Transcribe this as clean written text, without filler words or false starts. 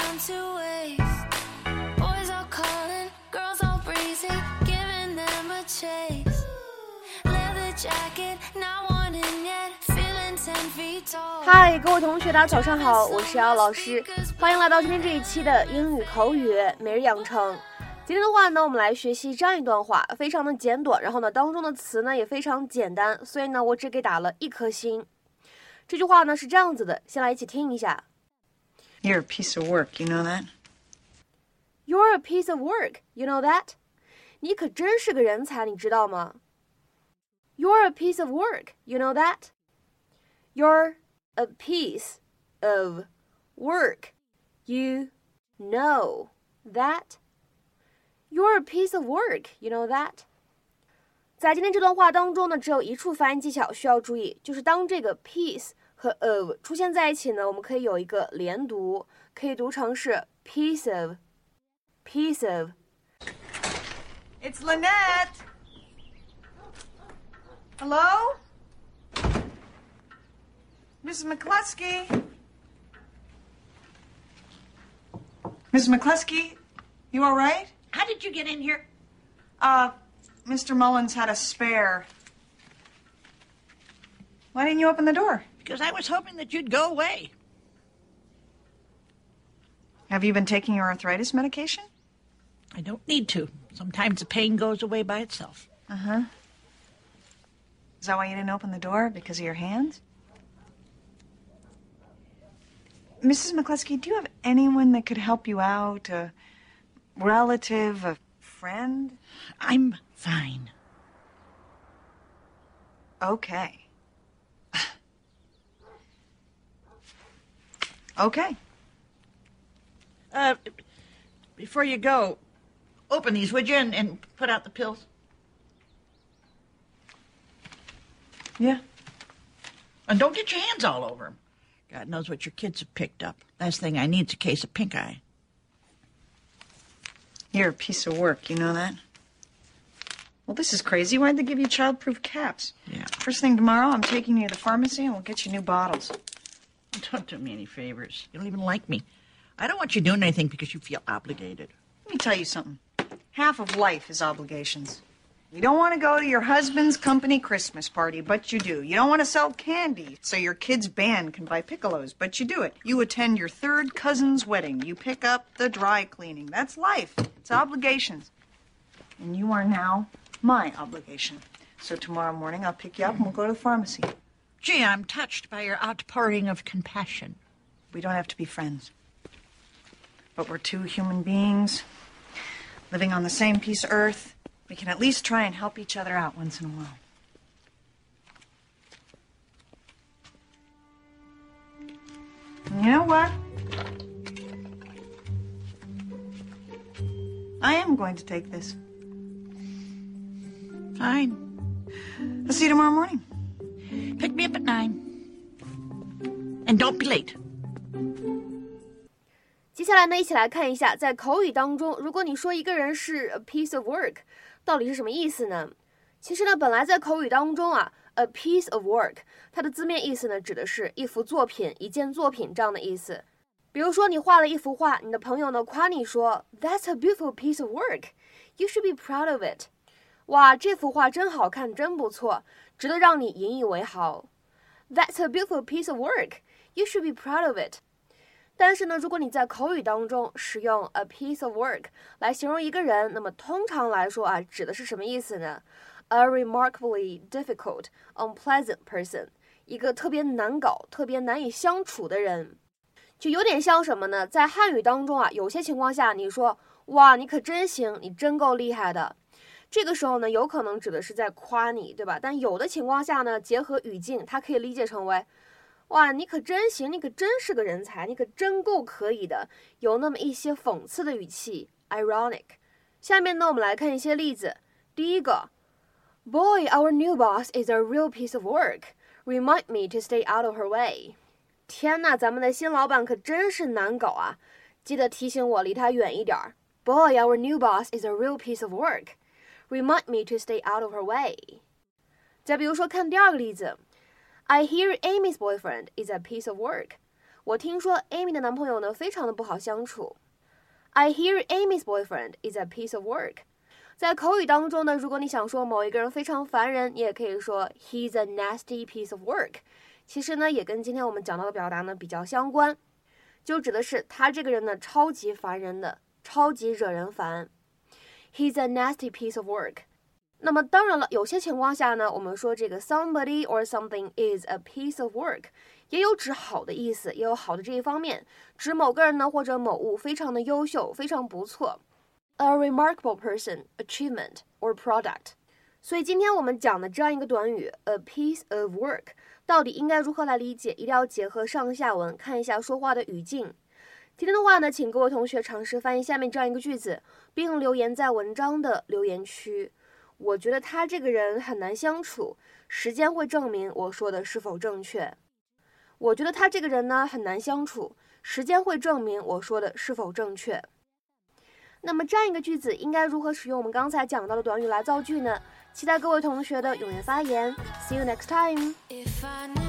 time to waste. Boys are calling, girls all breezy, giving them a chase. Leather jacket, not wanting yet, feeling 10 feet tall. 嗨，各位同学，大家早上好，我是姚老师，欢迎来到今天这一期的英语口语每日养成。今天的话呢，我们来学习这样一段话，非常的简短，然后呢，当中的词呢也非常简单，所以呢，我只给打了1颗星。这句话呢是这样子的，先来一起听一下。 You're a piece of work, you know that? You're a piece of work, you know that? 你可真是个人才，你知道吗？ You're a piece of work, you know that? You're a piece of work, you know that?You're a piece of work, you know that? 在今天这段话当中呢，只有一处发音技巧需要注意，就是当这个 piece 和 of 出现在一起呢，我们可以有一个连读，可以读成是 piece of, piece of. It's Lynette. Hello? Mrs. McCluskey? Mrs. McCluskey, you all right? How did you get in here? Mr. Mullins had a spare. Why didn't you open the door? Because I was hoping that you'd go away. Have you been taking your arthritis medication? I don't need to. Sometimes the pain goes away by itself. Uh-huh. Is that why you didn't open the door? Because of your hands? Mrs. McCluskey, do you have anyone that could help you out? A relative, a friend? I'm fine. Okay. Okay. Before you go, open these, would you, and put out the pills? Yeah. And don't get your hands all over them. God knows what your kids have picked up. Last thing I need is a case of pink eye. You're a piece of work, you know that? Well, this is crazy. Why'd they give you child-proof caps? Yeah. First thing tomorrow, I'm taking you to the pharmacy and we'll get you new bottles. Don't do me any favors. You don't even like me. I don't want you doing anything because you feel obligated. Let me tell you something. Half of life is obligations. You don't want to go to your husband's company Christmas party, but you do. You don't want to sell candy so your kid's band can buy piccolos, but you do it. You attend your third cousin's wedding. You pick up the dry cleaning. That's life. It's obligations. And you are now my obligation. So tomorrow morning I'll pick you up and we'll go to the pharmacy. Gee, I'm touched by your outpouring of compassion. We don't have to be friends. But we're two human beings living on the same piece of earth. We can at least try and help each other out once in a while. And you know what? I am going to take this. Fine. I'll see you tomorrow morning. Pick me up at 9. And don't be late. 接下来呢，一起来看一下，在口语当中，如果你说一个人是 a piece of work， 到底是什么意思呢？其实呢，本来在口语当中啊 ，a piece of work， 它的字面意思呢，指的是一幅作品、一件作品这样的意思。比如说，你画了一幅画，你的朋友呢夸你说 ，That's a beautiful piece of work. You should be proud of it. 哇，这幅画真好看，真不错，值得让你引以为豪。That's a beautiful piece of work. You should be proud of it. 但是呢，如果你在口语当中使用 a piece of work 来形容一个人，那么通常来说啊，指的是什么意思呢？ A remarkably difficult, unpleasant person， 一个特别难搞、特别难以相处的人，就有点像什么呢？在汉语当中啊，有些情况下你说哇，你可真行，你真够厉害的，这个时候呢，有可能指的是在夸你，对吧？但有的情况下呢，结合语境，它可以理解成为哇，你可真行，你可真是个人才，你可真够可以的，有那么一些讽刺的语气 ironic。 下面呢，我们来看一些例子。第一个 Boy, our new boss is a real piece of work. Remind me to stay out of her way. 天哪，咱们的新老板可真是难搞啊，记得提醒我离他远一点。Boy, our new boss is a real piece of work. Remind me to stay out of her way. 再比如说看第二个例子，I hear Amy's boyfriend is a piece of work. 我听说 Amy 的男朋友呢非常的不好相处。I hear Amy's boyfriend is a piece of work。在口语当中呢，如果你想说某一个人非常烦人，你也可以说 He's a nasty piece of work。其实呢，也跟今天我们讲到的表达呢比较相关，就指的是他这个人呢超级烦人的，超级惹人烦。He's a nasty piece of work。那么当然了，有些情况下呢，我们说这个 somebody or something is a piece of work， 也有指好的意思，也有好的这一方面，指某个人呢或者某物非常的优秀，非常不错。A remarkable person, achievement, or product。 所以今天我们讲的这样一个短语 a piece of work 到底应该如何来理解，一定要结合上下文看一下说话的语境。今天的话呢，请各位同学尝试翻译下面这样一个句子，并留言在文章的留言区。我觉得他这个人很难相处，时间会证明我说的是否正确。我觉得他这个人呢很难相处，时间会证明我说的是否正确。那么这样一个句子应该如何使用我们刚才讲到的短语来造句呢？期待各位同学的踊跃发言。See you next time.